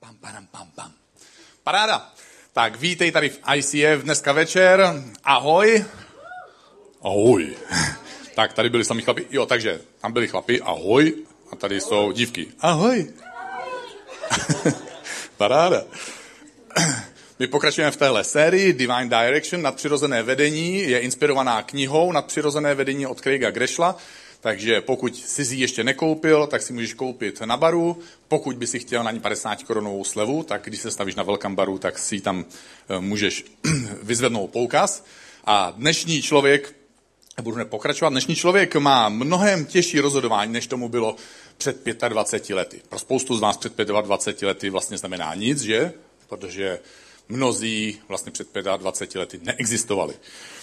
Pam. Paráda. Tak vítej tady v ICF dneska večer. Ahoj. Ahoj. Tak tady byli sami chlapi. Jo, takže tam byli chlapi. Ahoj. A tady jsou dívky. Ahoj. Paráda. My pokračujeme v téhle sérii Divine Direction, nadpřirozené vedení, je inspirovaná knihou Nadpřirozené vedení od Craiga Groeschela, takže pokud jsi ji ještě nekoupil, tak si můžeš koupit na baru, pokud by si chtěl na ní 50 korunovou slevu, tak když se stavíš na Welcome baru, tak si tam můžeš vyzvednout poukaz. A dnešní člověk, budu pokračovat, dnešní člověk má mnohem těžší rozhodování, než tomu bylo před 25 lety. Pro spoustu z vás před 25 lety vlastně znamená nic, že? Protože mnozí vlastně před 25 lety neexistovali.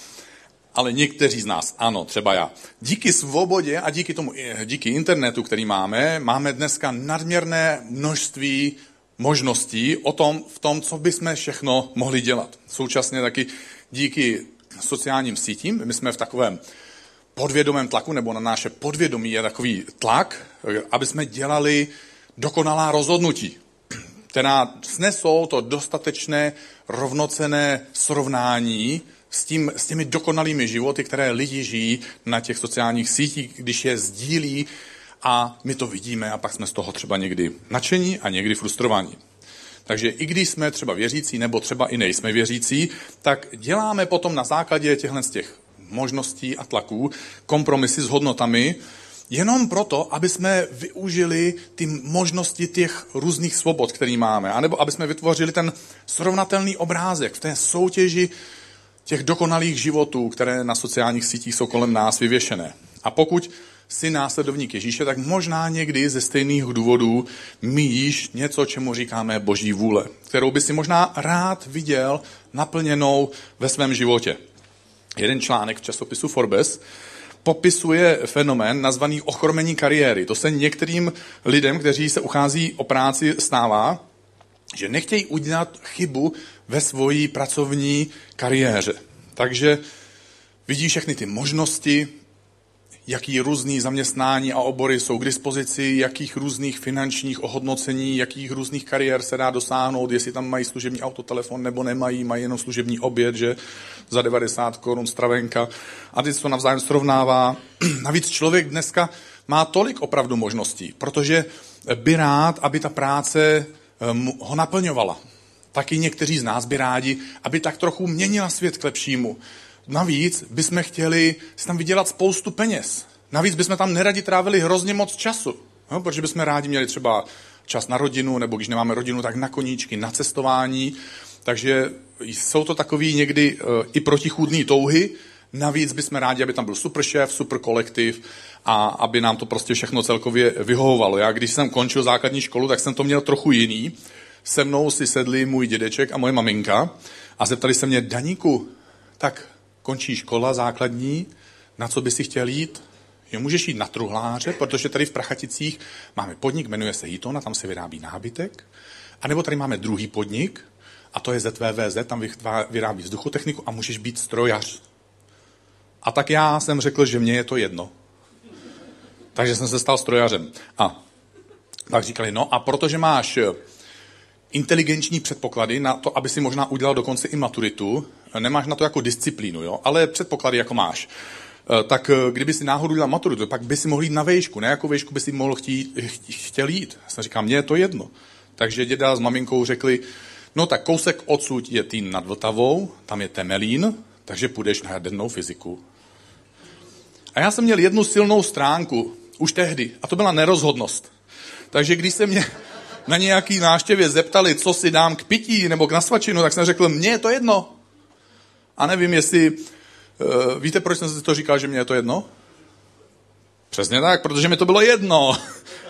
Ale někteří z nás, ano, třeba já. Díky svobodě a díky internetu, který máme dneska nadměrné množství možností v tom, co bychom všechno mohli dělat. Současně taky díky sociálním sítím, my jsme v takovém podvědomém tlaku, nebo na naše podvědomí je takový tlak, aby jsme dělali dokonalá rozhodnutí, která snesou to dostatečné rovnocenné srovnání s těmi dokonalými životy, které lidi žijí na těch sociálních sítích, když je sdílí a my to vidíme a pak jsme z toho třeba někdy nadšení a někdy frustrovaní. Takže i když jsme třeba věřící nebo třeba i nejsme věřící, tak děláme potom na základě těchto z těch možností a tlaků kompromisy s hodnotami, jenom proto, aby jsme využili ty možnosti těch různých svobod, které máme, anebo aby jsme vytvořili ten srovnatelný obrázek v té soutěži těch dokonalých životů, které na sociálních sítích jsou kolem nás vyvěšené. A pokud jsi následovník Ježíše, tak možná někdy ze stejných důvodů míjíš něco, čemu říkáme Boží vůle, kterou by si možná rád viděl naplněnou ve svém životě. Jeden článek v časopisu Forbes popisuje fenomén nazvaný ochromení kariéry. To se některým lidem, kteří se uchází o práci, stává, že nechtějí udělat chybu ve svojí pracovní kariéře. Takže vidí všechny ty možnosti, jaký různý zaměstnání a obory jsou k dispozici, jakých různých finančních ohodnocení, jakých různých kariér se dá dosáhnout, jestli tam mají služební autotelefon nebo nemají, mají jenom služební oběd, že za 90 korun stravenka. A teď se to navzájem srovnává. Navíc člověk dneska má tolik opravdu možností, protože by rád, aby ta práce ho naplňovala. Taky někteří z nás by rádi, aby tak trochu měnila svět k lepšímu. Navíc bychom chtěli si tam vydělat spoustu peněz. Navíc bychom tam neradi trávili hrozně moc času. No, protože bychom rádi měli třeba čas na rodinu, nebo když nemáme rodinu, tak na koníčky, na cestování. Takže jsou to takový někdy i protichůdný touhy. Navíc bychom rádi, aby tam byl super šéf, super kolektiv a aby nám to prostě všechno celkově vyhovovalo. Já když jsem končil základní školu, tak jsem to měl trochu jiný. Se mnou si sedli můj dědeček a moje maminka a zeptali se mě: Daníku, tak končí škola základní, na co by si chtěl jít? Jo, můžeš jít na truhláře, protože tady v Prachaticích máme podnik, jmenuje se Hiton a tam se vyrábí nábytek. A nebo tady máme druhý podnik a to je ZVVZ, tam vyrábí vzduchotechniku a můžeš být strojař. A tak já jsem řekl, že mně je to jedno. Takže jsem se stal strojařem. A tak říkali, no a protože máš inteligenční předpoklady na to, aby si možná udělal dokonce i maturitu, nemáš na to jako disciplínu, jo? Ale předpoklady jako máš. Tak kdyby si náhodou udělal maturitu, pak by si mohl jít na vejšku. Na jakou vejšku by si mohl chtěl jít? Já jsem říkal, mně je to jedno. Takže děda s maminkou řekli, no tak kousek odsud je Týn nad Vltavou, tam je Temelín, takže půjdeš na jadernou fyziku. A já jsem měl jednu silnou stránku, už tehdy, a to byla nerozhodnost. Takže když se mě na nějaký návštěvě zeptali, co si dám k pití nebo k nasvačinu, tak jsem řekl, mně je to jedno. A nevím, jestli víte, proč jsem si to říkal, že mně je to jedno? Přesně tak, protože mi to bylo jedno.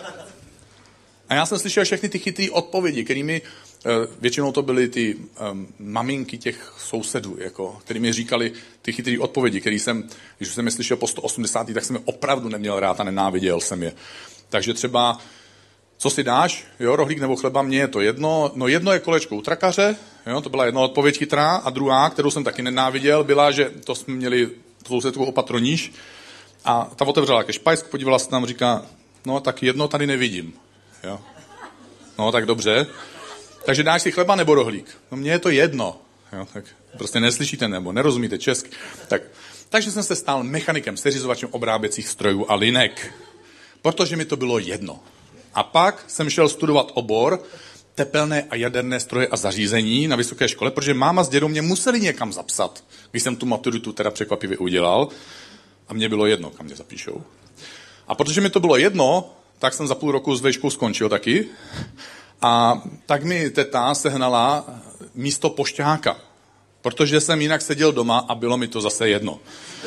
A já jsem slyšel všechny ty chytré odpovědi, kterými většinou to byly ty maminky těch sousedů, jako, kterými říkali ty chytré odpovědi, když jsem je slyšel po 180, tak jsem je opravdu neměl rád a nenáviděl jsem je. Takže třeba, co si dáš, jo, rohlík nebo chleba, mně je to jedno. No jedno je kolečko u trakaře, jo, to byla jedna odpověď chytrá, a druhá, kterou jsem taky nenáviděl, byla, že to jsme měli sousedku opatroníž a ta otevřela ke špajsku, podívala se tam, říká, no tak jedno tady nevidím, jo. No tak dobře. Takže dáš si chleba nebo rohlík? No mně je to jedno. Jo, tak prostě neslyšíte nebo nerozumíte česky. Takže jsem se stal mechanikem, seřizovačem obráběcích strojů a linek. Protože mi to bylo jedno. A pak jsem šel studovat obor tepelné a jaderné stroje a zařízení na vysoké škole, protože máma s dědou mě museli někam zapsat, když jsem tu maturitu teda překvapivě udělal a mně bylo jedno, kam mě zapíšou. A protože mi to bylo jedno, tak jsem za půl roku s vejškou skončil taky a tak mi teta sehnala místo pošťáka, protože jsem jinak seděl doma a bylo mi to zase jedno.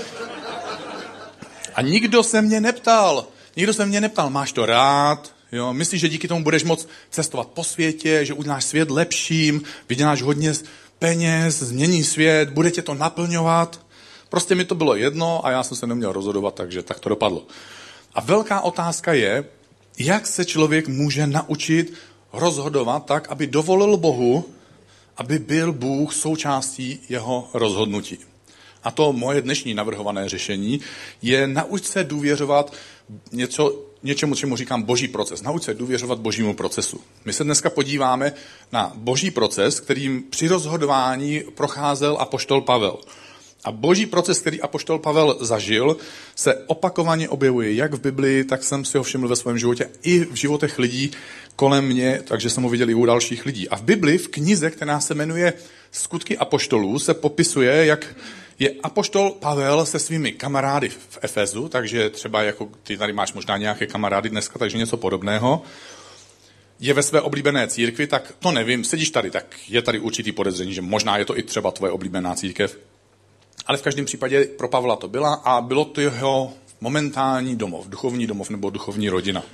A nikdo se mě neptal, máš to rád, jo? Myslíš, že díky tomu budeš moct cestovat po světě, že uděláš svět lepším, vyděláš hodně peněz, změní svět, bude tě to naplňovat. Prostě mi to bylo jedno a já jsem se neměl rozhodovat, takže tak to dopadlo. A velká otázka je, jak se člověk může naučit rozhodovat tak, aby dovolil Bohu, aby byl Bůh součástí jeho rozhodnutí. A to moje dnešní navrhované řešení je nauč se důvěřovat něčemu, čemu říkám boží proces. Nauč se důvěřovat božímu procesu. My se dneska podíváme na boží proces, kterým při rozhodování procházel apoštol Pavel. A boží proces, který apoštol Pavel zažil, se opakovaně objevuje jak v Biblii, tak jsem si ho všiml ve svém životě, i v životech lidí kolem mě, takže jsem ho viděl i u dalších lidí. A v Biblii, v knize, která se jmenuje Skutky apoštolů, se popisuje, jak je apoštol Pavel se svými kamarády v Efezu, takže třeba jako ty tady máš možná nějaké kamarády dneska, takže něco podobného, je ve své oblíbené církvi, tak to nevím, sedíš tady, tak je tady určitý podezření, že možná je to i třeba tvoje oblíbená církev. Ale v každém případě pro Pavla to byla a bylo to jeho momentální domov, duchovní domov nebo duchovní rodina.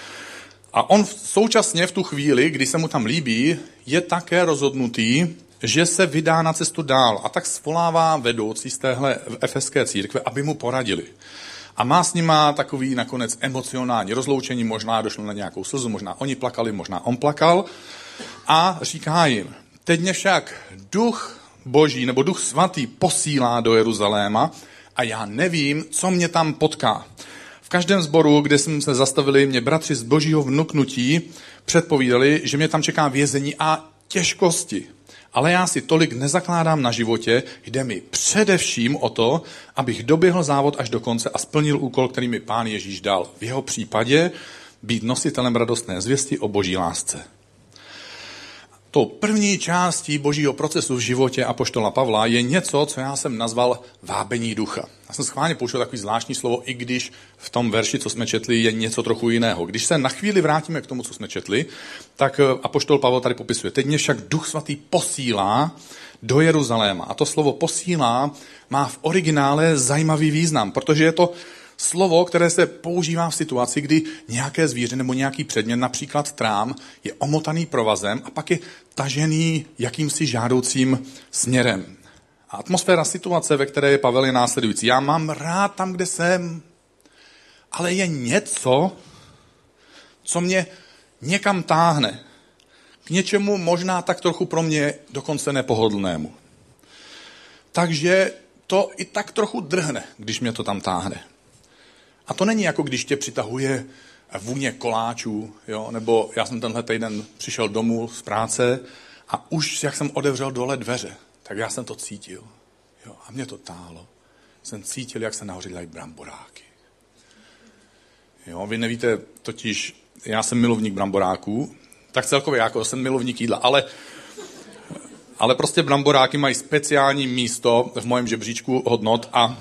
A on současně v tu chvíli, kdy se mu tam líbí, je také rozhodnutý, že se vydá na cestu dál a tak svolává vedoucí z téhle efeské církve, aby mu poradili. A má s nima takový nakonec emocionální rozloučení, možná došlo na nějakou slzu, možná oni plakali, možná on plakal a říká jim, teď mě však duch Boží nebo duch svatý posílá do Jeruzaléma a já nevím, co mě tam potká. V každém sboru, kde jsme se zastavili, mě bratři z božího vnuknutí předpovídali, že mě tam čeká vězení a těžkosti. Ale já si tolik nezakládám na životě, jde mi především o to, abych doběhl závod až do konce a splnil úkol, který mi Pán Ježíš dal. V jeho případě být nositelem radostné zvěsti o boží lásce. Tou první částí božího procesu v životě apoštola Pavla je něco, co já jsem nazval vábení ducha. Já jsem schválně použil takový zvláštní slovo, i když v tom verši, co jsme četli, je něco trochu jiného. Když se na chvíli vrátíme k tomu, co jsme četli, tak apoštol Pavel tady popisuje. Teď mě však duch svatý posílá do Jeruzaléma. A to slovo posílá má v originále zajímavý význam, protože je to slovo, které se používá v situaci, kdy nějaké zvíře nebo nějaký předmět, například trám, je omotaný provazem a pak je tažený jakýmsi žádoucím směrem. A atmosféra situace, ve které je Pavel, je následující. Já mám rád tam, kde jsem, ale je něco, co mě někam táhne. K něčemu možná tak trochu pro mě dokonce nepohodlnému. Takže to i tak trochu drhne, když mě to tam táhne. A to není jako když tě přitahuje vůně koláčů, jo? Nebo já jsem tenhle týden přišel domů z práce a už jak jsem otevřel dole dveře, tak já jsem to cítil. Jo? A mě to táhlo. Jsem cítil, jak se nahoře dělají bramboráky. Jo? Vy nevíte, totiž já jsem milovník bramboráků, tak celkově jako jsem milovník jídla, ale prostě bramboráky mají speciální místo v mém žebříčku hodnot a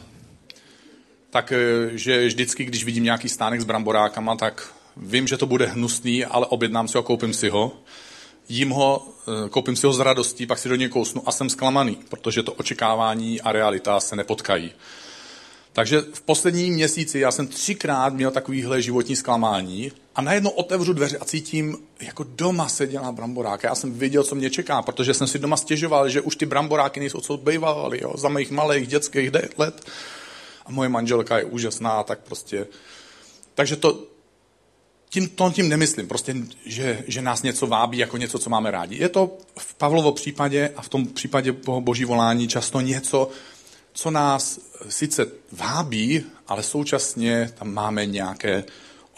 takže vždycky, když vidím nějaký stánek s bramborákama, tak vím, že to bude hnusný, ale objednám si ho a koupím si ho. Jím ho, koupím si ho s radostí, pak si do něj kousnu a jsem zklamaný, protože to očekávání a realita se nepotkají. Takže v posledním měsíci já jsem 3krát měl takovýhle životní zklamání a najednou otevřu dveře a cítím, jako doma se dělá bramboráky. Já jsem věděl, co mě čeká, protože jsem si doma stěžoval, že už ty bramboráky nejsou, co bývaly, za mých malých dětských let. A moje manželka je úžasná, tak prostě. Takže tím nemyslím, prostě, že nás něco vábí jako něco, co máme rádi. Je to v Pavlovo případě a v tom případě boží volání často něco, co nás sice vábí, ale současně tam máme nějaké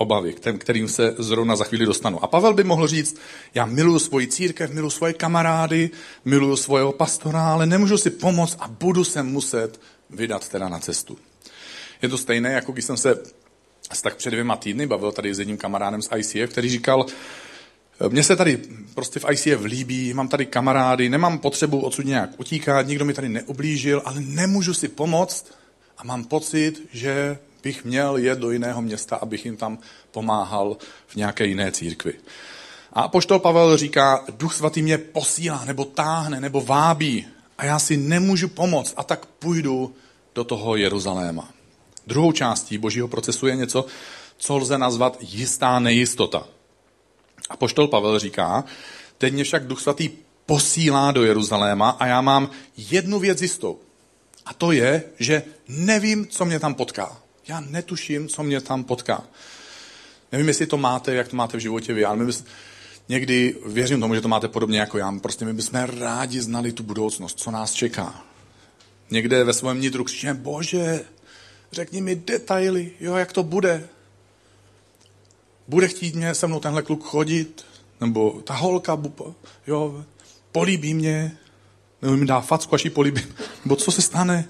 obavy, kterým se zrovna za chvíli dostanu. A Pavel by mohl říct, já miluju svoji církev, miluju svoje kamarády, miluju svého pastora, ale nemůžu si pomoct a budu se muset vydat teda na cestu. Je to stejné, jako když jsem se tak před 2 týdny bavil tady s jedním kamarádem z ICF, který říkal, mně se tady prostě v ICF líbí, mám tady kamarády, nemám potřebu odsud nějak utíkat, nikdo mi tady neublížil, ale nemůžu si pomoct a mám pocit, že bych měl jet do jiného města, abych jim tam pomáhal v nějaké jiné církvi. A apoštol Pavel říká, Duch svatý mě posílá, nebo táhne, nebo vábí a já si nemůžu pomoct a tak půjdu do toho Jeruzaléma. Druhou částí božího procesu je něco, co lze nazvat jistá nejistota. Apoštol Pavel říká, teď mě však Duch svatý posílá do Jeruzaléma a já mám jednu věc jistou. A to je, že nevím, co mě tam potká. Já netuším, co mě tam potká. Nevím, jestli to máte, jak to máte v životě vy, ale někdy věřím tomu, že to máte podobně jako já. Prostě my bychom rádi znali tu budoucnost, co nás čeká. Někde ve svém nitru křičíme, Bože, řekni mi detaily, jo, jak to bude. Bude chtít mě se mnou tenhle kluk chodit, nebo ta holka, jo, políbí mě, nebo mi dá facku, až ji políbím, nebo co se stane.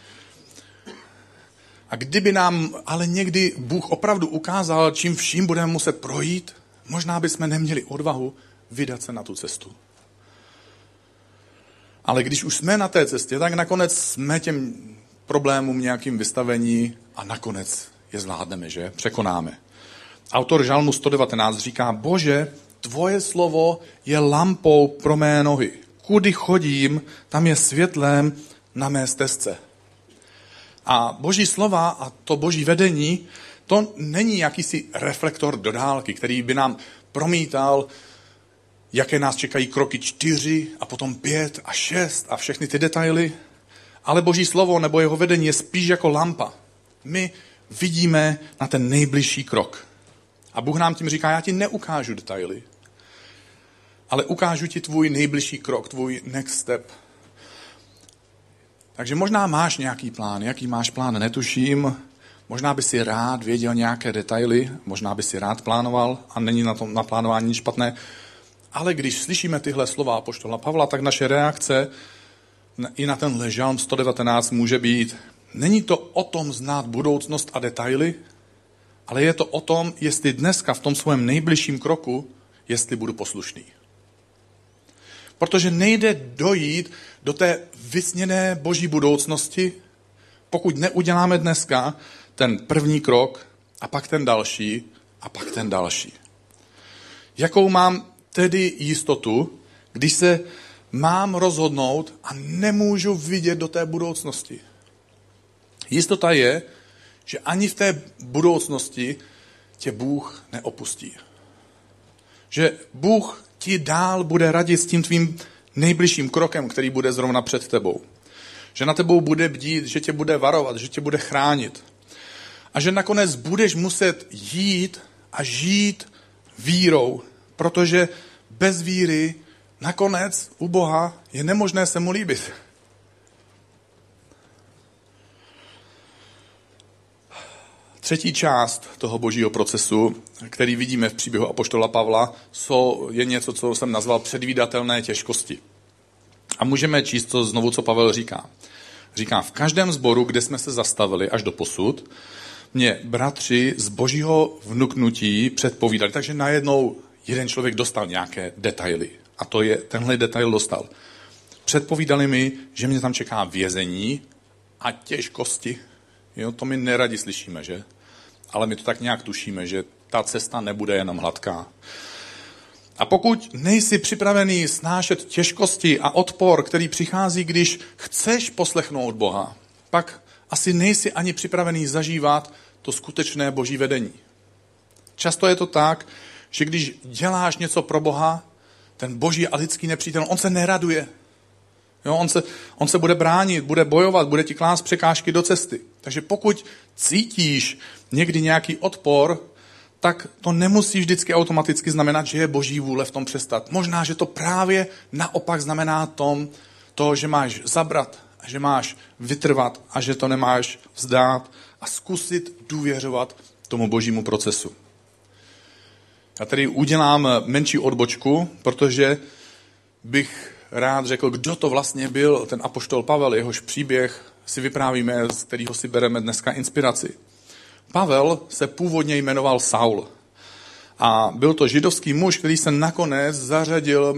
A kdyby nám ale někdy Bůh opravdu ukázal, čím vším budeme muset projít, možná bychom neměli odvahu vydat se na tu cestu. Ale když už jsme na té cestě, tak nakonec jsme těm problémům nějakým vystavení a nakonec je zvládneme, že? Překonáme. Autor Žalmu 119 říká, Bože, tvoje slovo je lampou pro mé nohy. Kudy chodím, tam je světlem na mé stezce. A boží slova a to boží vedení, to není jakýsi reflektor do dálky, který by nám promítal, jaké nás čekají kroky 4 a potom 5 a 6 a všechny ty detaily. Ale boží slovo nebo jeho vedení je spíš jako lampa. My vidíme na ten nejbližší krok. A Bůh nám tím říká, já ti neukážu detaily, ale ukážu ti tvůj nejbližší krok, tvůj next step. Takže možná máš nějaký plán. Jaký máš plán, netuším. Možná by si rád věděl nějaké detaily, možná by si rád plánoval a není na tom naplánování nic špatné. Ale když slyšíme tyhle slova apoštola Pavla, tak naše reakce i na ten Žalm 119 může být, není to o tom znát budoucnost a detaily, ale je to o tom, jestli dneska v tom svém nejbližším kroku, jestli budu poslušný. Protože nejde dojít do té vysněné boží budoucnosti, pokud neuděláme dneska ten první krok a pak ten další a pak ten další. Jakou mám tedy jistotu, když se mám rozhodnout a nemůžu vidět do té budoucnosti? Jistota je, že ani v té budoucnosti tě Bůh neopustí. Že Bůh ti dál bude radit s tím tvým nejbližším krokem, který bude zrovna před tebou. Že na tebou bude bdít, že tě bude varovat, že tě bude chránit. A že nakonec budeš muset jít a žít vírou, protože bez víry nakonec u Boha je nemožné se mu líbit. Třetí část toho božího procesu, který vidíme v příběhu apoštola Pavla, je něco, co jsem nazval předvídatelné těžkosti. A můžeme číst to znovu, co Pavel říká. Říká, v každém sboru, kde jsme se zastavili až do posud, mě bratři z božího vnuknutí předpovídali. Takže najednou jeden člověk dostal nějaké detaily. A tenhle detail dostal. Předpovídali mi, že mě tam čeká vězení a těžkosti. Jo, to my neradi slyšíme, že? Ale my to tak nějak tušíme, že ta cesta nebude jenom hladká. A pokud nejsi připravený snášet těžkosti a odpor, který přichází, když chceš poslechnout Boha, pak asi nejsi ani připravený zažívat to skutečné boží vedení. Často je to tak, že když děláš něco pro Boha, ten boží a lidský nepřítel, on se neraduje. Jo, on se bude bránit, bude bojovat, bude ti klást překážky do cesty. Takže pokud cítíš někdy nějaký odpor, tak to nemusí vždycky automaticky znamenat, že je boží vůle v tom přestat. Možná, že to právě naopak znamená to, že máš zabrat, a že máš vytrvat a že to nemáš vzdát a zkusit důvěřovat tomu božímu procesu. Já tady udělám menší odbočku, protože bych rád řekl, kdo to vlastně byl ten apoštol Pavel, jehož příběh si vyprávíme, z kterého si bereme dneska inspiraci. Pavel se původně jmenoval Saul a byl to židovský muž, který se nakonec zařadil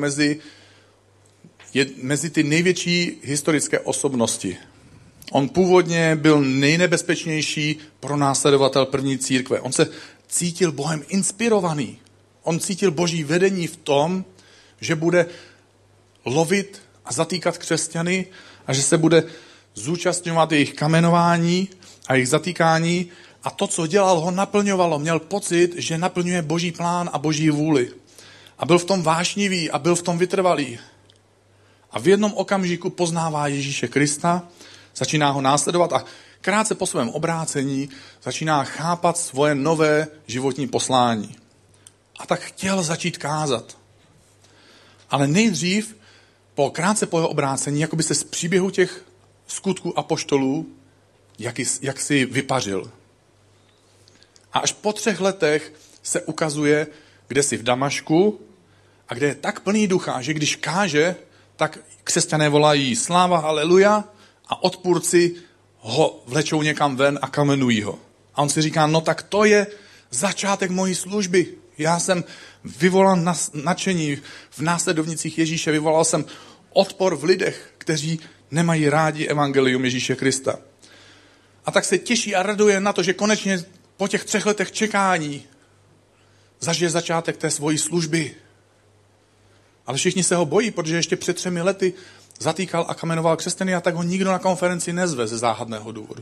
mezi ty největší historické osobnosti. On původně byl nejnebezpečnější pronásledovatel první církve. On se cítil Bohem inspirovaný. On cítil Boží vedení v tom, že bude lovit a zatýkat křesťany a že se bude zúčastňovat jejich kamenování a jejich zatýkání. A to, co dělal, ho naplňovalo. Měl pocit, že naplňuje Boží plán a Boží vůli. A byl v tom vášnivý a byl v tom vytrvalý. A v jednom okamžiku poznává Ježíše Krista, začíná ho následovat a krátce po svém obrácení začíná chápat svoje nové životní poslání. A tak chtěl začít kázat. Ale nejdřív, krátce po jeho obrácení, jako by se z příběhu těch skutků apoštolů, jak si vypařil. A až po 3 letech se ukazuje, kde si v Damašku a kde je tak plný ducha, že když káže, tak křesťané volají sláva, haleluja, a odpůrci ho vlečou někam ven a kamenují ho. A on si říká, no tak to je začátek mojí služby. Já jsem vyvolal nadšení v následovnicích Ježíše, vyvolal jsem odpor v lidech, kteří nemají rádi evangelium Ježíše Krista. A tak se těší a raduje na to, že konečně po těch 3 letech čekání zažije začátek té svojí služby. Ale všichni se ho bojí, protože ještě před 3 lety zatýkal a kamenoval křesťany a tak ho nikdo na konferenci nezve ze záhadného důvodu.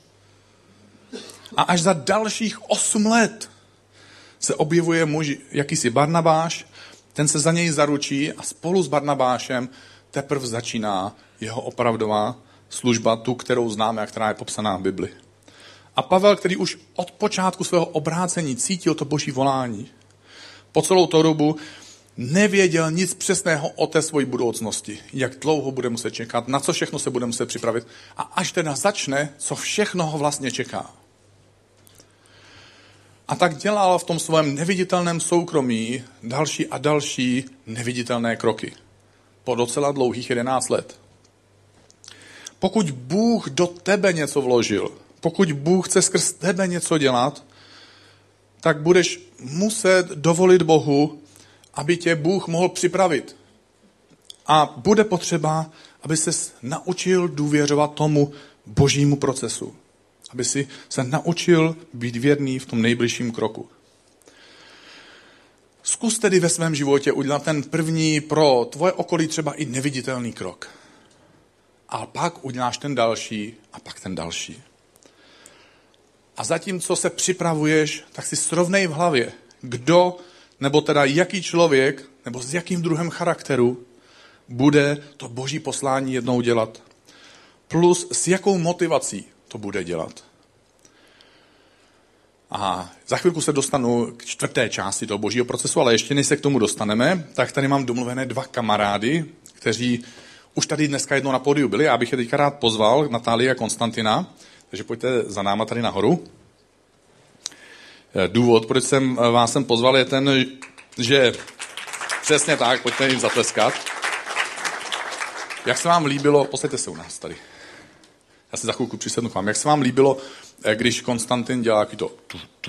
A až za dalších 8 let se objevuje muž, jakýsi Barnabáš, ten se za něj zaručí a spolu s Barnabášem teprve začíná jeho opravdová služba, tu, kterou známe a která je popsaná v Bibli. A Pavel, který už od počátku svého obrácení cítil to Boží volání, po celou tu dobu nevěděl nic přesného o té své budoucnosti, jak dlouho bude muset čekat, na co všechno se bude muset připravit a až teda začne, co všechno ho vlastně čeká. A tak dělal v tom svém neviditelném soukromí další a další neviditelné kroky. Po docela dlouhých 11 let. Pokud Bůh do tebe něco vložil, pokud Bůh chce skrz tebe něco dělat, tak budeš muset dovolit Bohu, aby tě Bůh mohl připravit. A bude potřeba, aby ses naučil důvěřovat tomu Božímu procesu. Aby si se naučil být věrný v tom nejbližším kroku. Zkus tedy ve svém životě udělat ten první pro tvoje okolí třeba i neviditelný krok. A pak uděláš ten další a pak ten další. A zatímco se připravuješ, tak si srovnej v hlavě, kdo nebo teda jaký člověk nebo s jakým druhem charakteru bude to Boží poslání jednou dělat. Plus s jakou motivací to bude dělat. A za chvilku se dostanu k 4. části toho Božího procesu, ale ještě než se k tomu dostaneme, tak tady mám domluvené 2 kamarády, kteří už tady dneska jednou na pódiu byli. Já bych je teďka rád pozval, Natálii a Konstantina, takže pojďte za náma tady nahoru. Důvod, proč jsem vás sem pozval, je ten, že přesně tak, pojďte jim zatleskat. Jak se vám líbilo, posaďte se u nás tady. Já si za chvilku přisednu k vám. Jak se vám líbilo, když Konstantin dělá taky to...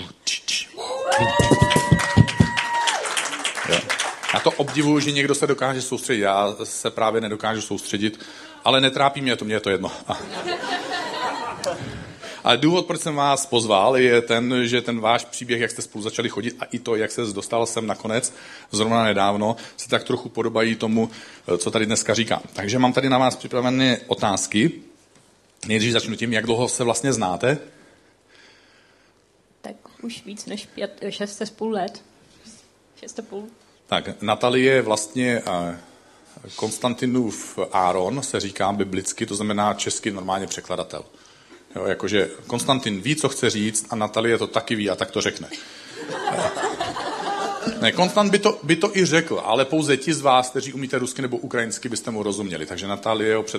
Já to obdivuju, že někdo se dokáže soustředit. Já se právě nedokážu soustředit, ale netrápí mě to, mně je to jedno. Ale důvod, proč jsem vás pozval, je ten, že ten váš příběh, jak jste spolu začali chodit a i to, jak se dostal sem nakonec, zrovna nedávno, se tak trochu podobají tomu, co tady dneska říkám. Takže mám tady na vás připravené otázky. Nejdřív začnu tím, jak dlouho se vlastně znáte. Tak už víc než 6,5 let. 6,5. Tak, Natalie je vlastně Konstantinův Áron, se říká biblicky, to znamená česky normálně překladatel. Jo, jakože Konstantin ví, co chce říct a Natalie to taky ví a tak to řekne. Ne, Konstant by to i řekl, ale pouze ti z vás, kteří umíte rusky nebo ukrajinsky, byste mu rozuměli. Takže Natalie ho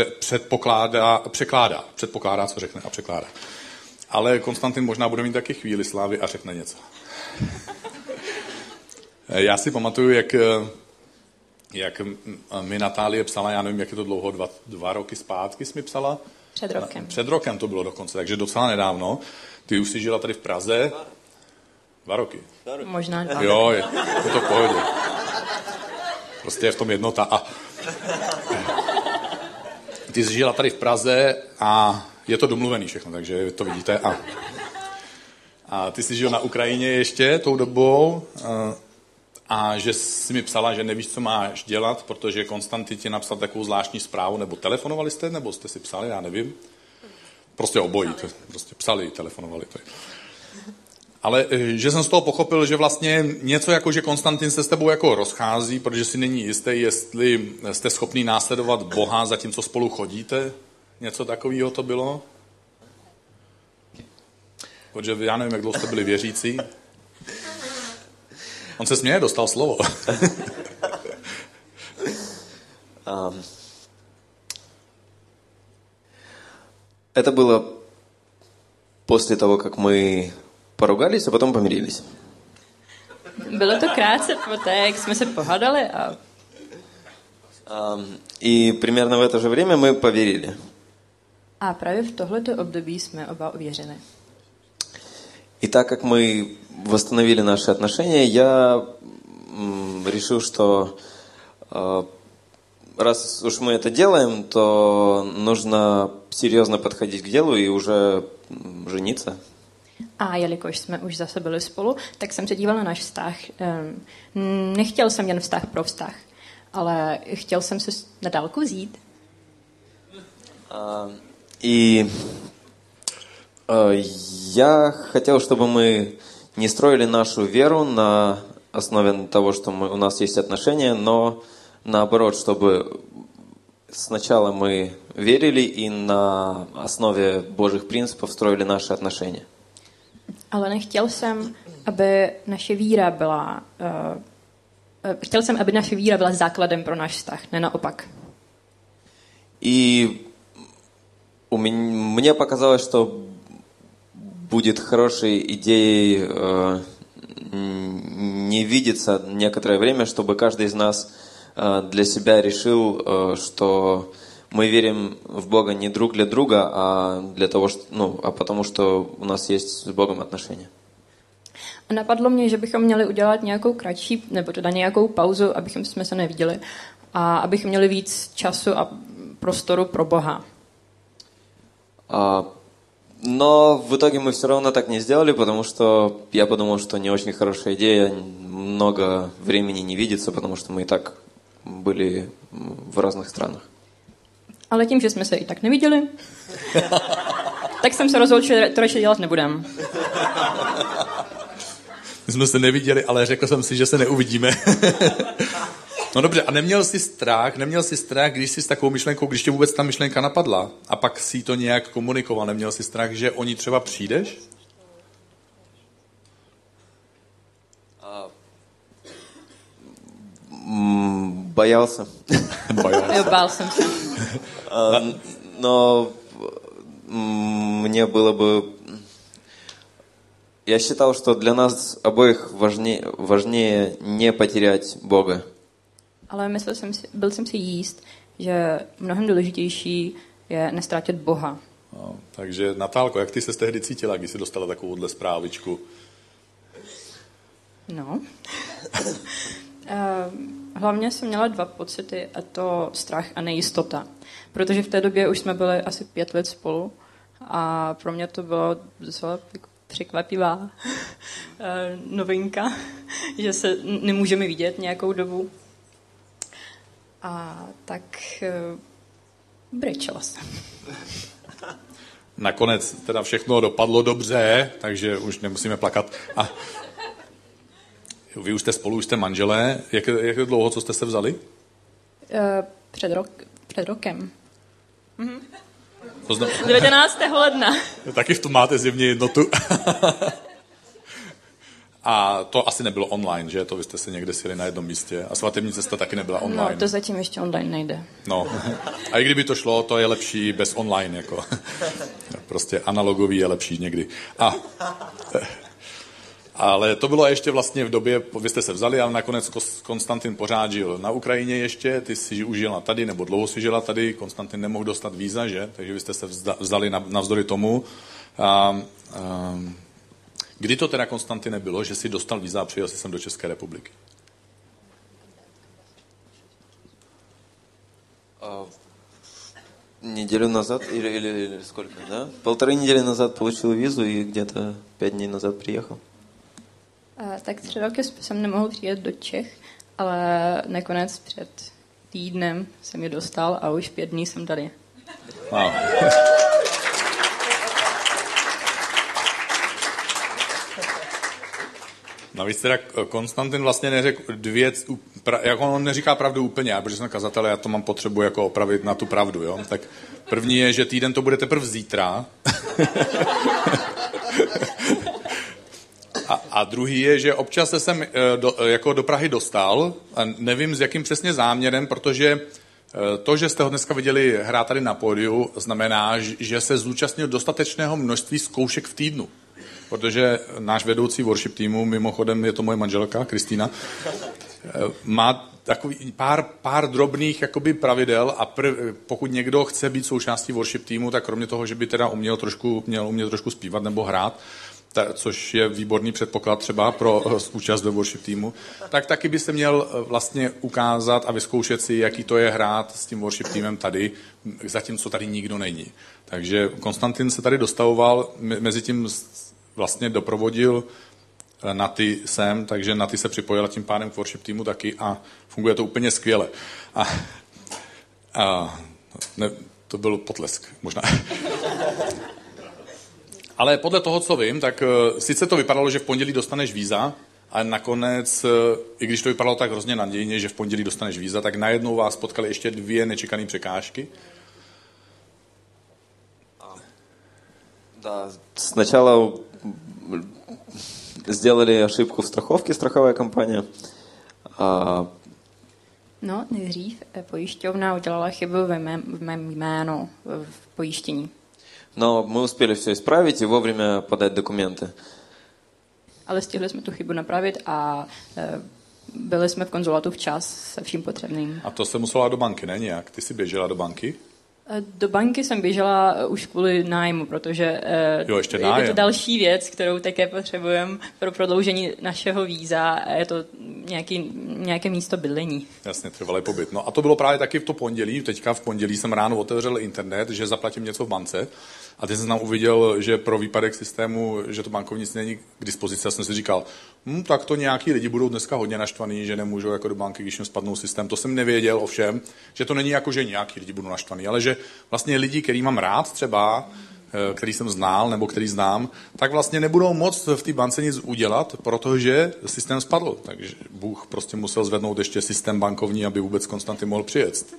předpokládá, co řekne a překládá. Ale Konstantin možná bude mít taky chvíli slávy a řekne něco. Já si pamatuju, jak mi Natálie psala, já nevím, jak je to dlouho, 2 roky zpátky jsi mi psala? Před rokem. Před rokem to bylo dokonce, takže docela nedávno. Ty už jsi žila tady v Praze. 2 roky. Možná 2. Jo, je to v pohodě. Prostě je v tom jednota. A ty jsi žila tady v Praze a je to domluvený všechno, takže to vidíte. A ty jsi žil na Ukrajině ještě tou dobou a že jsi mi psala, že nevíš, co máš dělat, protože Konstantin ti napsal takovou zvláštní zprávu, nebo telefonovali jste, nebo jste si psali, já nevím. Prostě obojí, prostě psali, telefonovali. Ale že jsem z toho pochopil, že vlastně něco jako, že Konstantin se s tebou jako rozchází, protože si není jistý, jestli jste schopný následovat Boha, zatímco spolu chodíte. Něco takového to bylo? Protože já nevím, jak dlouho jste byli věřící. On se směje, dostal slovo. Это было после того, как мы поругались, а потом помирились. Bylo to krátce poté, jak jsme se pohádali a... И примерно в это же время мы поверили. A právě v tohleto období jsme oba uvěřili. И так как мы восстановили наши отношения, я решил, что раз уж мы это делаем, то нужно серьезно подходить к делу и уже жениться. A jelikož jsme už zase byli spolu, tak jsem se díval na náš vztah. Nechtěl jsem jen vztah pro vztah, ale chtěl jsem se na dálku vzít. И я хотел, чтобы мы не строили нашу веру на основе того, что у нас есть отношения, но наоборот, чтобы сначала мы верили и на основе Божьих принципов строили наши отношения. Ale nechtěl jsem, aby naše víra byla... chtěl jsem, aby naše víra byla základem pro náš vztah, ne naopak. И мне показалось, что будет хорошей идеей не видеться некоторое время, чтобы каждый из нас для себя решил, что мы верим в Бога не друг для друга, а для того, а потому что у нас есть с Богом отношения. A napadlo mě, že bychom měli udělat nějakou kratší, nebo teda nějakou pauzu, jsme se neviděli, a abychom měli víc času a prostoru pro Boha. Но в итоге мы все равно так не сделали, потому что я подумал, что не очень хорошая идея много времени не видеться, потому что мы и так были в разных странах. Ale tím, že jsme se i tak neviděli, tak jsem se rozhodl, že to radši dělat nebudem. My jsme se neviděli, ale řekl jsem si, že se neuvidíme. No dobře, a neměl jsi strach, když jsi s takovou myšlenkou, když tě vůbec ta myšlenka napadla a pak si to nějak komunikoval, neměl jsi strach, že o ní třeba přijdeš? Боялся. Bál jsem se. Но мне было бы... Я считал, что для нас обоих важнее не потерять Бога. Ale byl jsem si jíst, že mnohem důležitější je neztratit Boha. No, takže Natálko, jak ty se tehdy cítila, když jsi dostala takovouhle zprávičku? No. Hlavně jsem měla 2 pocity, a to strach a nejistota. Protože v té době už jsme byli asi 5 let spolu a pro mě to bylo docela překvapivá novinka, že se nemůžeme vidět nějakou dobu. A tak brečela jsem. Nakonec teda všechno dopadlo dobře, takže už nemusíme plakat. A vy už jste spolu, už jste manželé. Jak dlouho, co jste se vzali? Před rokem. 19. 19. ledna. Taky v tom máte zjevně jednotu. A to asi nebylo online, že? To vy jste se někde sjeli na jednom místě. A svatební cesta taky nebyla online. No, to zatím ještě online nejde. No. A i kdyby to šlo, to je lepší bez online. Jako. Prostě analogový je lepší někdy. Ale to bylo ještě vlastně v době, vy jste se vzali, ale nakonec Konstantin pořád žil na Ukrajině ještě, ty si už žila tady, nebo dlouho si žila tady, Konstantin nemohl dostat víza, že? Takže vy jste se vzali navzdory tomu. Kdy to teda, Konstantine, bylo, že si dostal víza a přijel si sem do České republiky? Неделю назад или сколько, да? 1,5 недели назад получил визу и где-то 5 дней назад приехал. Tak 3 roky jsem nemohl přijet do Čech, ale nakonec před týdnem jsem je dostal a už 5 dní jsem tady. Wow. Navíc teda Konstantin vlastně neřekl jako on neříká pravdu úplně, protože jsem kazatel, já to mám potřebu jako opravit na tu pravdu, jo? Tak první je, že týden to bude teprve zítra. A druhý je, že občas se sem jako do Prahy dostal, a nevím s jakým přesně záměrem, protože to, že jste ho dneska viděli hrát tady na pódiu, znamená, že se zúčastnil dostatečného množství zkoušek v týdnu. Protože náš vedoucí worship týmu, mimochodem je to moje manželka, Kristýna, má takový pár drobných jakoby pravidel a pokud někdo chce být součástí worship týmu, tak kromě toho, že by teda měl umět trošku zpívat nebo hrát, což je výborný předpoklad třeba pro účast ve worship týmu, tak taky by se měl vlastně ukázat a vyzkoušet si, jaký to je hrát s tím worship týmem tady, zatímco tady nikdo není. Takže Konstantin se tady dostavoval, mezi tím vlastně doprovodil Naty sem, takže Naty se připojila tím pádem k worship týmu taky a funguje to úplně skvěle. To byl potlesk možná. Ale podle toho, co vím, tak sice to vypadalo, že v pondělí dostaneš víza, a nakonec, i když to vypadalo tak hrozně nadějně, že v pondělí dostaneš víza, tak najednou vás potkaly ještě 2 nečekané překážky. Да, сначала сделали ошибку в страховке, страховая компания. No, nejdřív pojišťovna udělala chybu v mém jménu v pojištění. Но мы успели все исправить и вовремя подать документы. Ale stihli jsme tu chybu napravit a byli jsme v konzulátu včas se vším potřebným. A to se musela do banky, ne nějak? Ty jsi běžela do banky? Do banky jsem běžela už kvůli nájmu, protože ještě nájem. je to další věc, kterou také potřebujeme pro prodloužení našeho víza a je to nějaké místo bydlení. Jasně, trvalý pobyt. No a to bylo právě taky v to pondělí. Teďka v pondělí jsem ráno otevřel internet, že zaplatím něco v bance a teď jsem tam uviděl, že pro výpadek systému, že to bankovnictví není k dispozici. Já jsem si říkal, tak to nějaký lidi budou dneska hodně naštvaný, že nemůžou jako do banky, když jim spadnou systém. To jsem nevěděl ovšem, že to není jako, že nějaký lidi budou naštvaný, ale že vlastně lidi, který mám rád třeba, který jsem znal nebo který znám, tak vlastně nebudou moct v té bance nic udělat, protože systém spadl. Takže Bůh prostě musel zvednout ještě systém bankovní, aby vůbec Konstantin mohl přijet.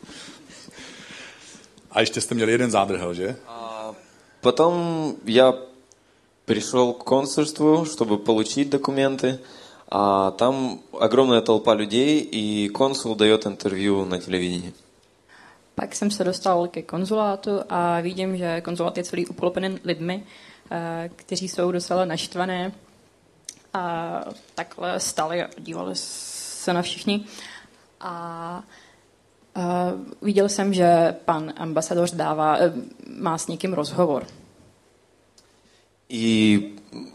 A ještě jste měli jeden zádrhel, že? Потом я пришел к консульству, чтобы получить документы, а там огромная толпа людей, и консул дает интервью на телевидении. Pak jsem se dostal ke konzulátu a vidím, že konzulát je celý uplopený lidmi, kteří jsou docela naštvané a takhle stali a dívali se na všichni. A viděl jsem, že pan ambasador má s někým rozhovor. И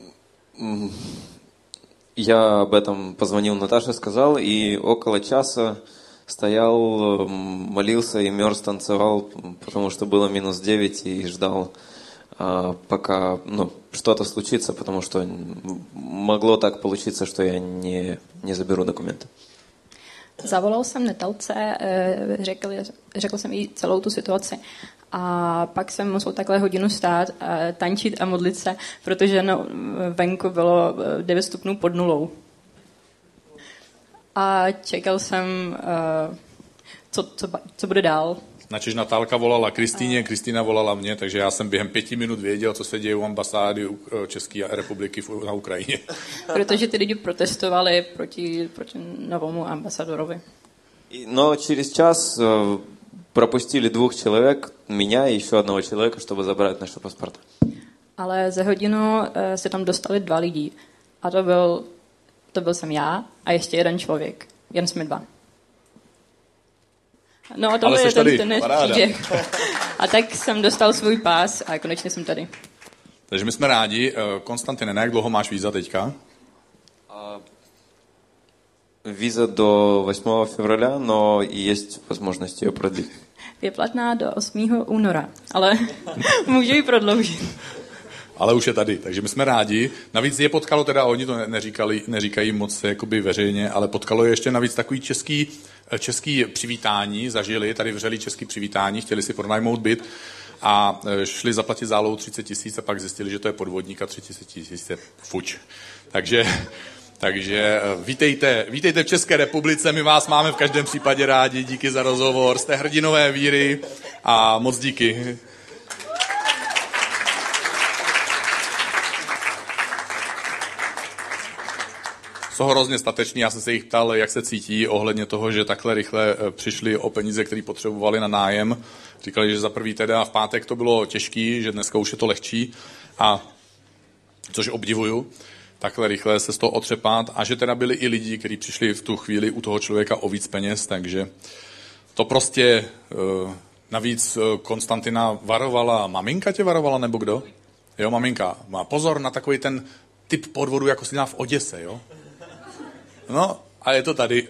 я об этом позвонил Наташе, сказал, и около часа стоял, молился и мерз, танцевал, потому что было -9, и ждал, пока что-то случится, потому что могло так получиться, что я не заберу документы. Zavolal jsem Netalce, řekl jsem jí celou tu situaci a pak jsem musel takhle hodinu stát, tančit a modlit se, protože venku bylo 9 stupňů pod nulou. A čekal jsem, co bude dál. Načež Natálka volala Kristýně, Kristýna volala mě, takže já jsem během 5 minut věděl, co se děje u ambasády České republiky na Ukrajině. Protože ty lidi protestovali proti novému ambasadorovi. Но через час пропустили 2 человек, меня и еще одного человека, чтобы забрать наши паспорта. Ale za hodinu se tam dostali 2 lidi. A to byl jsem já a ještě jeden člověk. Jen jsme dva. No a tohle je ten příběh. A tak jsem dostal svůj pás a konečně jsem tady. Takže my jsme rádi. Konstantine, na jak dlouho máš víza teďka? Víza do 8 февраля, но есть возможность ее продлить. Je platná do 8. února, ale můžu ji prodloužit. Ale už je tady, takže my jsme rádi. Navíc je potkalo, teda oni to neříkají moc jakoby veřejně, ale potkalo je ještě navíc takový český přivítání, zažili, tady vřelý český přivítání, chtěli si pronajmout byt a šli zaplatit zálohu 30 000 a pak zjistili, že to je podvodník a 30 000 je fuč. Takže vítejte v České republice, my vás máme v každém případě rádi, díky za rozhovor, jste hrdinové víry a moc díky. Jsou hrozně stateční, já jsem se jich ptal, jak se cítí ohledně toho, že takhle rychle přišli o peníze, které potřebovali na nájem. Říkali, že za prvý teda v pátek to bylo těžký, že dneska už je to lehčí, a což obdivuju, takhle rychle se z toho otřepat, a že teda byli i lidi, kteří přišli v tu chvíli u toho člověka o víc peněz, takže to prostě navíc Konstantina varovala, maminka tě varovala nebo kdo? Jo, maminka. Má pozor na takový ten typ podvodu, jako si dělá v Oděse, jo? No, a je to tady.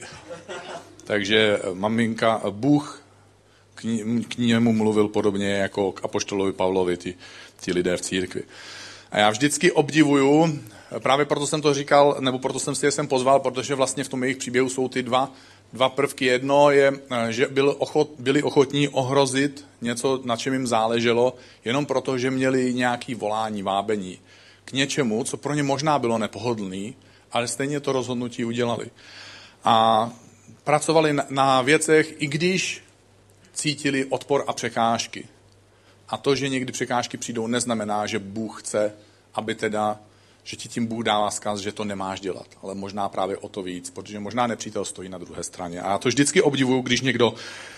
Takže maminka, Bůh k němu mluvil podobně jako k apoštolovi Pavlovi, ti lidé v církvi. A já vždycky obdivuju, právě proto jsem to říkal, nebo proto jsem si je sem pozval, protože vlastně v tom jejich příběhu jsou ty dva prvky. Jedno je, že byli ochotní ohrozit něco, na čem jim záleželo, jenom proto, že měli nějaké volání, vábení k něčemu, co pro ně možná bylo nepohodlný, ale stejně to rozhodnutí udělali. A pracovali na věcech, i když cítili odpor a překážky. A to, že někdy překážky přijdou, neznamená, že Bůh chce, aby teda, že ti tím Bůh dává vzkaz, že to nemáš dělat. Ale možná právě o to víc, protože možná nepřítel stojí na druhé straně. A já to vždycky obdivuju, když někdo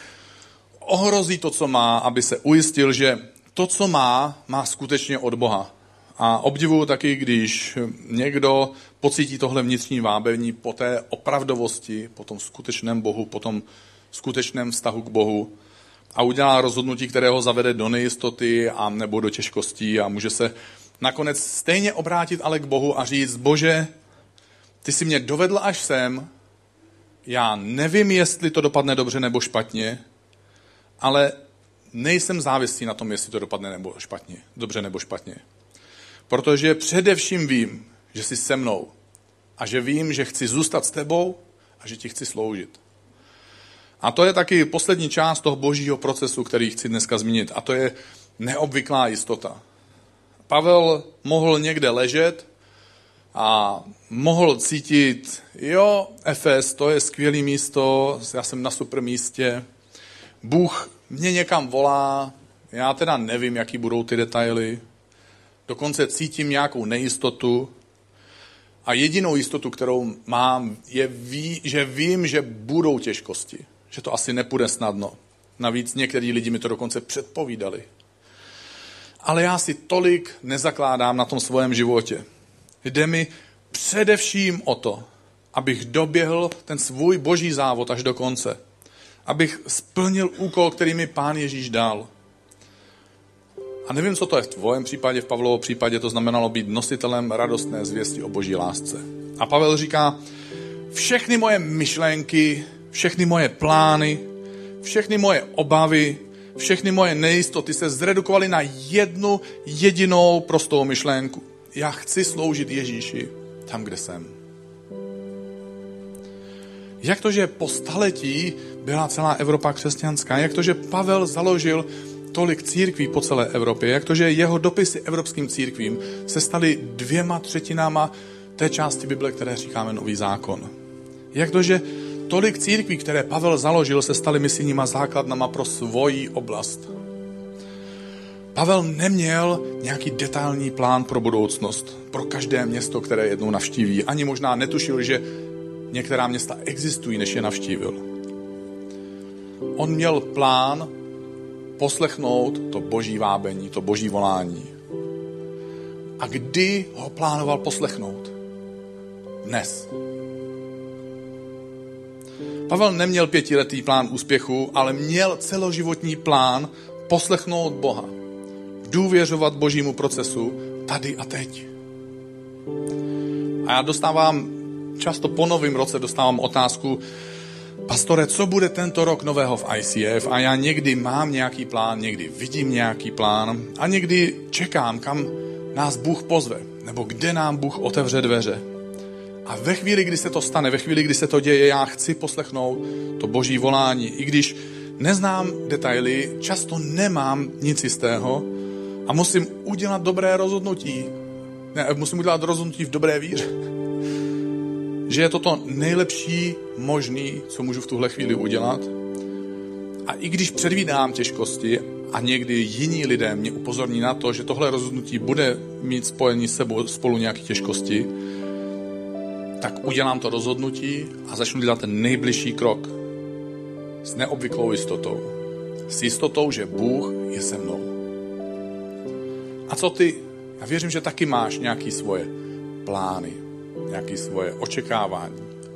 ohrozí to, co má, aby se ujistil, že to, co má skutečně od Boha. A obdivuju taky, když někdo pocítí tohle vnitřní vábení po té opravdovosti, po tom skutečném Bohu, po tom skutečném vztahu k Bohu a udělá rozhodnutí, které ho zavede do nejistoty a nebo do těžkostí a může se nakonec stejně obrátit ale k Bohu a říct: Bože, ty jsi mě dovedl až sem, já nevím, jestli to dopadne dobře nebo špatně, ale nejsem závislý na tom, jestli to dopadne nebo špatně, dobře nebo špatně. Protože především vím, že jsi se mnou a že vím, že chci zůstat s tebou a že ti chci sloužit. A to je taky poslední část toho božího procesu, který chci dneska zmínit, a to je neobvyklá jistota. Pavel mohl někde ležet a mohl cítit, jo, Efes, to je skvělé místo, já jsem na super místě, Bůh mě někam volá, já teda nevím, jaký budou ty detaily, dokonce cítím nějakou nejistotu a jedinou jistotu, kterou mám, je, že vím, že budou těžkosti, že to asi nepůjde snadno. Navíc některý lidi mi to dokonce předpovídali. Ale já si tolik nezakládám na tom svém životě. Jde mi především o to, abych doběhl ten svůj boží závod až do konce. Abych splnil úkol, který mi Pán Ježíš dal. A nevím, co to je v tvém případě, v Pavlově případě to znamenalo být nositelem radostné zvěsti o boží lásce. A Pavel říká, všechny moje myšlenky, všechny moje plány, všechny moje obavy, všechny moje nejistoty se zredukovaly na jednu jedinou prostou myšlenku. Já chci sloužit Ježíši tam, kde jsem. Jak to, že po staletí byla celá Evropa křesťanská? Jak to, že Pavel založil tolik církví po celé Evropě? Jak to, že jeho dopisy evropským církvím se staly 2/3 té části Bible, které říkáme Nový zákon? Jak to, že tolik církví, které Pavel založil, se staly misijníma základnama pro svoji oblast? Pavel neměl nějaký detailní plán pro budoucnost, pro každé město, které jednou navštíví. Ani možná netušil, že některá města existují, než je navštívil. On měl plán poslechnout to boží vábení, to boží volání. A kdy ho plánoval poslechnout? dnes. Pavel neměl 5letý plán úspěchu, ale měl celoživotní plán poslechnout Boha. Důvěřovat Božímu procesu tady a teď. A já často po novém roce dostávám otázku, pastore, co bude tento rok nového v ICF? A já někdy mám nějaký plán, někdy vidím nějaký plán a někdy čekám, kam nás Bůh pozve, nebo kde nám Bůh otevře dveře. A ve chvíli, kdy se to stane, ve chvíli, kdy se to děje, já chci poslechnout to Boží volání. I když neznám detaily, často nemám nic jistého a musím udělat dobré rozhodnutí. Musím udělat rozhodnutí v dobré víře. Že je to to nejlepší možný, co můžu v tuhle chvíli udělat. A i když předvídám těžkosti a někdy jiní lidé mě upozorní na to, že tohle rozhodnutí bude mít spojení s sebou spolu nějaké těžkosti, tak udělám to rozhodnutí a začnu dělat ten nejbližší krok s neobvyklou jistotou. S jistotou, že Bůh je se mnou. A co ty? Já věřím, že taky máš nějaké svoje plány, nějaké svoje očekávání.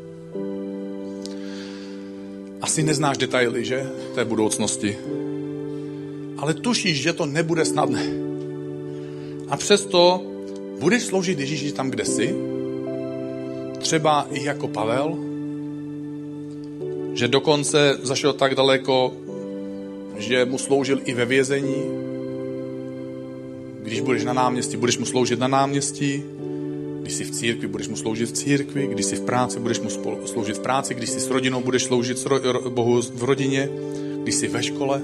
Asi neznáš detaily, že? Té budoucnosti. Ale tušíš, že to nebude snadné. A přesto budeš sloužit Ježíši tam, kde jsi. Třeba i jako Pavel, že dokonce zašel tak daleko, že mu sloužil i ve vězení. Když budeš na náměstí, budeš mu sloužit na náměstí. Když jsi v církvi, budeš mu sloužit v církvi. Když jsi v práci, budeš mu sloužit v práci. Když jsi s rodinou, budeš sloužit Bohu v rodině. Když jsi ve škole.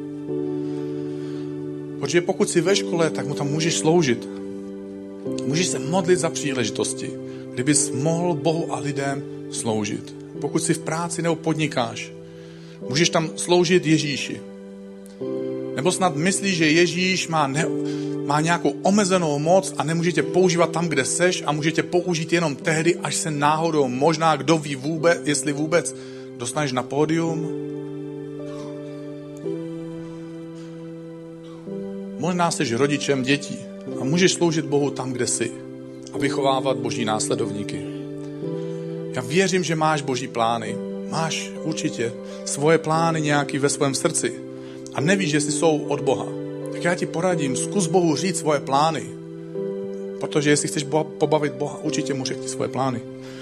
Protože pokud jsi ve škole, tak mu tam můžeš sloužit. Můžeš se modlit za příležitosti, kdybys mohl Bohu a lidem sloužit. Pokud jsi v práci nebo podnikáš, můžeš tam sloužit Ježíši. Nebo snad myslíš, že Ježíš má nějakou omezenou moc a nemůže tě používat tam, kde seš a může tě použít jenom tehdy, až se náhodou, možná kdo ví vůbec, jestli vůbec dostaneš na pódium. Možná jsi rodičem dětí a můžeš sloužit Bohu tam, kde jsi a vychovávat Boží následovníky. Já věřím, že máš Boží plány. Máš určitě svoje plány nějaký ve svém srdci a nevíš, jestli jsou od Boha. Tak já ti poradím, zkus Bohu říct svoje plány. Protože jestli chceš pobavit Boha, určitě mu řekni svoje plány.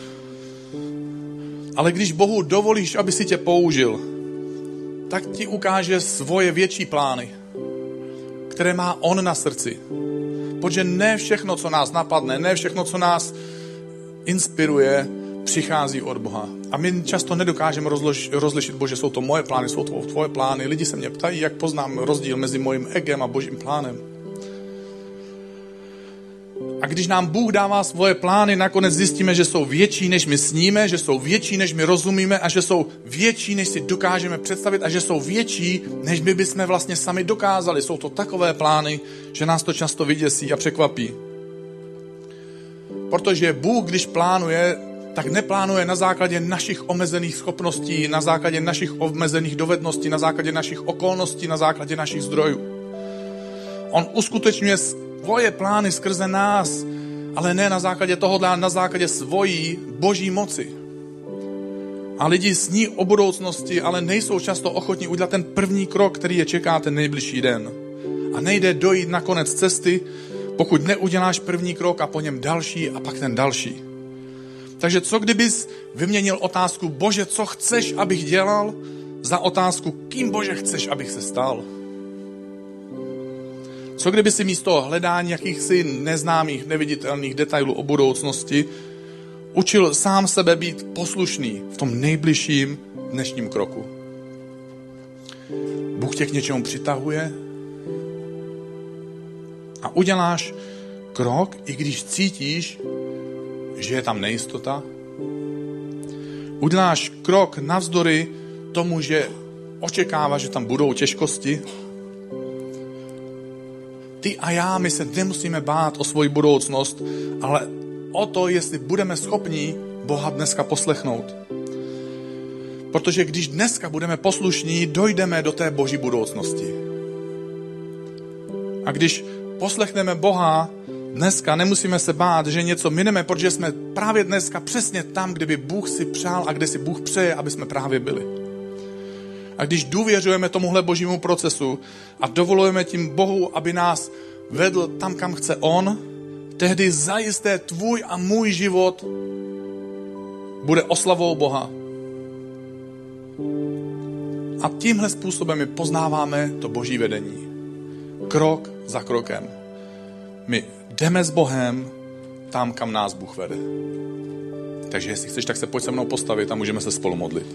Ale když Bohu dovolíš, aby si tě použil, tak ti ukáže svoje větší plány, které má on na srdci. Protože ne všechno, co nás napadne, ne všechno, co nás inspiruje, přichází od Boha. A my často nedokážeme rozlišit, Bože, jsou to moje plány, jsou to tvoje plány. Lidi se mě ptají, jak poznám rozdíl mezi mojím egem a Božím plánem. A když nám Bůh dává svoje plány, nakonec zjistíme, že jsou větší, než my sníme, že jsou větší, než my rozumíme a že jsou větší, než si dokážeme představit a že jsou větší, než my bychom vlastně sami dokázali. Jsou to takové plány, že nás to často vyděsí a překvapí. Protože Bůh, když plánuje, tak neplánuje na základě našich omezených schopností, na základě našich omezených dovedností, na základě našich okolností, na základě našich zdrojů. On uskutečňuje svoje plány skrze nás, ale ne na základě tohohle, ale na základě svojí Boží moci. A lidi sní o budoucnosti, ale nejsou často ochotní udělat ten první krok, který je čeká ten nejbližší den. A nejde dojít na konec cesty, pokud neuděláš první krok a po něm další a pak ten další. Takže co kdybys vyměnil otázku, Bože, co chceš, abych dělal, za otázku, kým, Bože, chceš, abych se stal? Co kdyby si místo hledání jakýchsi neznámých, neviditelných detailů o budoucnosti učil sám sebe být poslušný v tom nejbližším dnešním kroku? Bůh tě k něčemu přitahuje a uděláš krok, i když cítíš, že je tam nejistota. Uděláš krok navzdory tomu, že očekáváš, že tam budou těžkosti. Ty a já, my se nemusíme bát o svoji budoucnost, ale o to, jestli budeme schopni Boha dneska poslechnout. Protože když dneska budeme poslušní, dojdeme do té Boží budoucnosti. A když poslechneme Boha, Dneska nemusíme se bát, že něco mineme, protože jsme právě dneska přesně tam, kde by Bůh si přál a kde si Bůh přeje, aby jsme právě byli. A když důvěřujeme tomuhle božímu procesu a dovolujeme tím Bohu, aby nás vedl tam, kam chce On, tehdy zajisté tvůj a můj život bude oslavou Boha. A tímhle způsobem my poznáváme to boží vedení. Krok za krokem. My jdeme s Bohem tam, kam nás Bůh vede. Takže jestli chceš, tak se pojď se mnou postavit a můžeme se spolu modlit.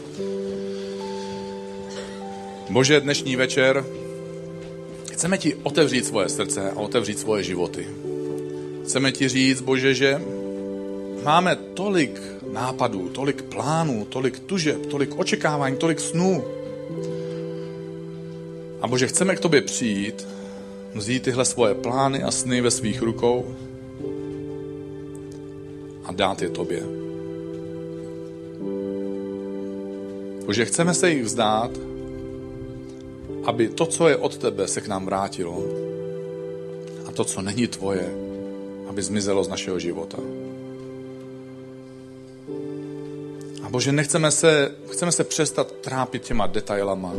Bože, dnešní večer chceme ti otevřít svoje srdce a otevřít svoje životy. Chceme ti říct, Bože, že máme tolik nápadů, tolik plánů, tolik tužeb, tolik očekávání, tolik snů. A Bože, chceme k tobě přijít, vzít tyhle svoje plány a sny ve svých rukou a dát je tobě. Bože, chceme se jich vzdát, aby to, co je od tebe, se k nám vrátilo a to, co není tvoje, aby zmizelo z našeho života. A Bože, chceme se přestat trápit těma detailama.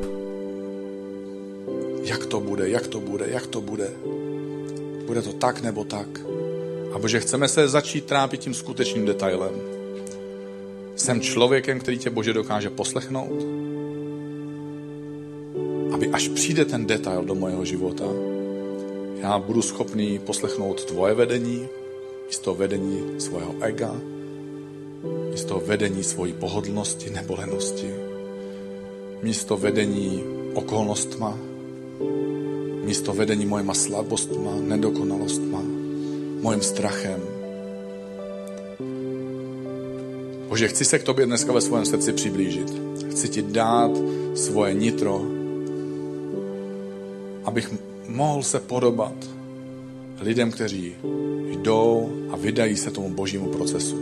Jak to bude, jak to bude, jak to bude. Bude to tak nebo tak. A Bože, chceme se začít trápit tím skutečným detailem. Jsem člověkem, který tě, Bože, dokáže poslechnout, aby až přijde ten detail do mojeho života, já budu schopný poslechnout tvoje vedení, místo vedení svého ega, místo vedení svojí pohodlnosti, nebolenosti, místo vedení okolnostma, místo vedení mojima slabostma, nedokonalostma, mojím strachem. Bože, chci se k tobě dneska ve svém srdci přiblížit. Chci ti dát svoje nitro, abych mohl se podobat lidem, kteří jdou a vydají se tomu božímu procesu.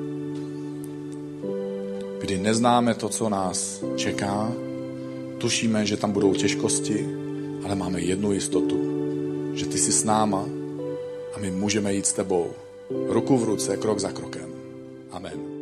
Kdy neznáme to, co nás čeká, tušíme, že tam budou těžkosti, ale máme jednu jistotu, že ty jsi s náma a my můžeme jít s tebou ruku v ruce, krok za krokem. Amen.